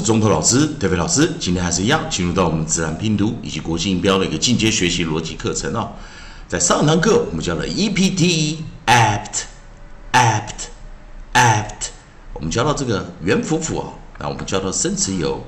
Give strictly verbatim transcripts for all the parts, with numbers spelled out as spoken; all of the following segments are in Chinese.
中头老师、德飞老师，今天还是一样，进入到我们自然拼读以及国际音标的一个进阶学习逻辑课程哦。在上堂课我们教了 E P T、apt、apt、apt， 我们教到这个元辅辅哦，那我们教到生词有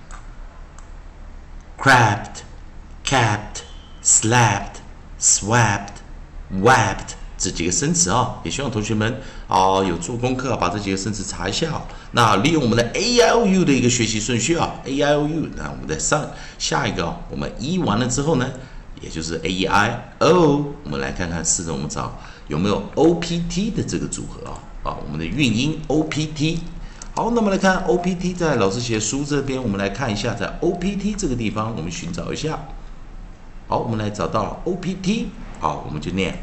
crabbed、capped、slapped、swapped、wapped。这几个生词啊，也希望同学们啊有做功课，把这几个生词查一下啊。那利用我们的 A I O U 的一个学习顺序啊 ，A I O U， 那我们再上下一个啊，我们 E 完了之后呢，也就是 A E I O， 我们来看看试着我们找有没有 O P T 的这个组合啊啊，我们的韵音 O P T。好，那么来看 O P T， 在老师写书这边，我们来看一下，在 O P T 这个地方，我们寻找一下。好，我们来找到 O P T， 好，我们就念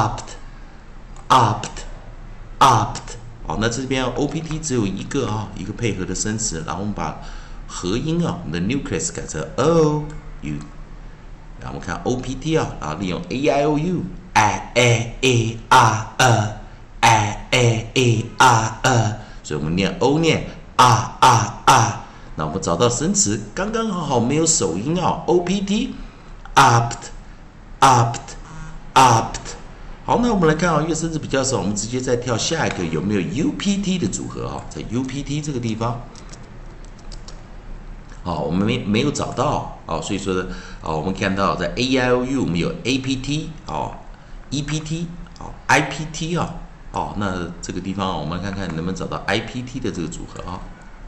opt。opt，opt， 好，那这边 O P T 只有一个啊，一个配合的生词，然后我们把合音啊，我们的 nucleus 改成 o u， 然后我们看 O P T 啊，然后利用 A I O U a a e r e a a e r e， 所以我们念 o 念 r r r， 那我们找到生词，刚刚好好没有首音啊 ，O P T opt，opt，opt。好，那我们来看啊，因为生词比较少，我们直接再跳下一个，有没有 U P T 的组合啊？在 U P T 这个地方，好，我们没没有找到啊，所以说呢，啊，我们看到在 A I O U 我们有 A P T 啊 ，E P T 啊 ，I P T 啊，哦，那这个地方我们看看能不能找到 I P T 的这个组合啊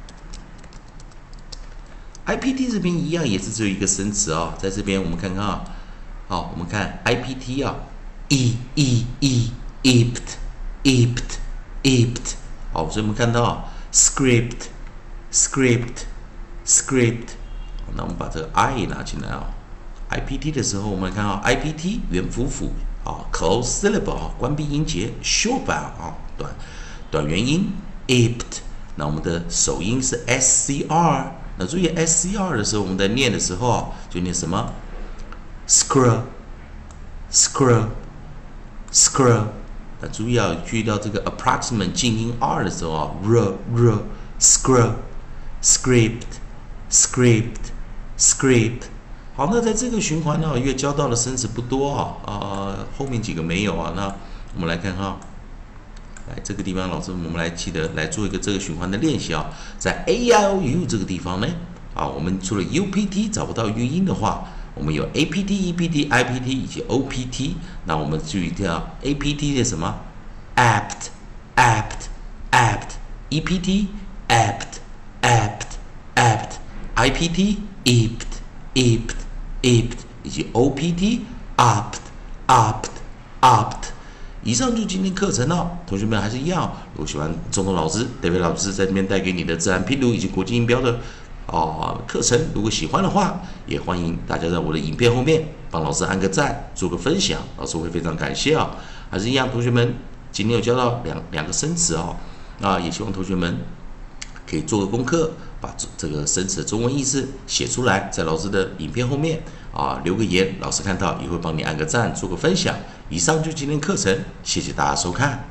？I P T 这边一样也是只有一个生词啊，在这边我们看看啊，好，我们看 I P T 啊。e e e ept ept ept， 好，所以我们看到 script script script， 那我们把这个 i 也拿进来啊 ，I P T 的时候，我们看到 I P T 元辅辅啊 ，close syllable 啊，关闭音节 ，short vowel 啊，短短元音 ept， 那我们的首音是 S C R， 那注意 S C R 的时候，我们在念的时候啊，就念什么 screw screw screw， 那注意啊，注意到这个 approximate 静音 r 的时候啊 ，r r screw script script script。好，那在这个循环呢，因为教到的生词不多啊，啊、呃，后面几个没有啊，那我们来看看啊，来这个地方，老师我们来记得来做一个这个循环的练习啊，在 A I O U 这个地方呢，啊，我们除了 U P T 找不到韵音的话。我们有 A P T、E P T、I P T 以及 O P T， 那我们注意到 A P T 是什么 ？apt、apt、apt，E P T、apt、apt、apt， I P T、ept、ept、ept， 以及 O P T、opt、opt、opt。以上就是今天课程了，同学们还是一样，如果喜欢中通老师、David 老师在这边带给你的自然拼读以及国际音标的。哦，课程如果喜欢的话，也欢迎大家在我的影片后面帮老师按个赞，做个分享，老师会非常感谢啊、哦。还是一样，同学们今天有教到两两个生词哦，那也希望同学们可以做个功课，把这个生词的中文意思写出来，在老师的影片后面啊留个言，老师看到也会帮你按个赞，做个分享。以上就是今天课程，谢谢大家收看。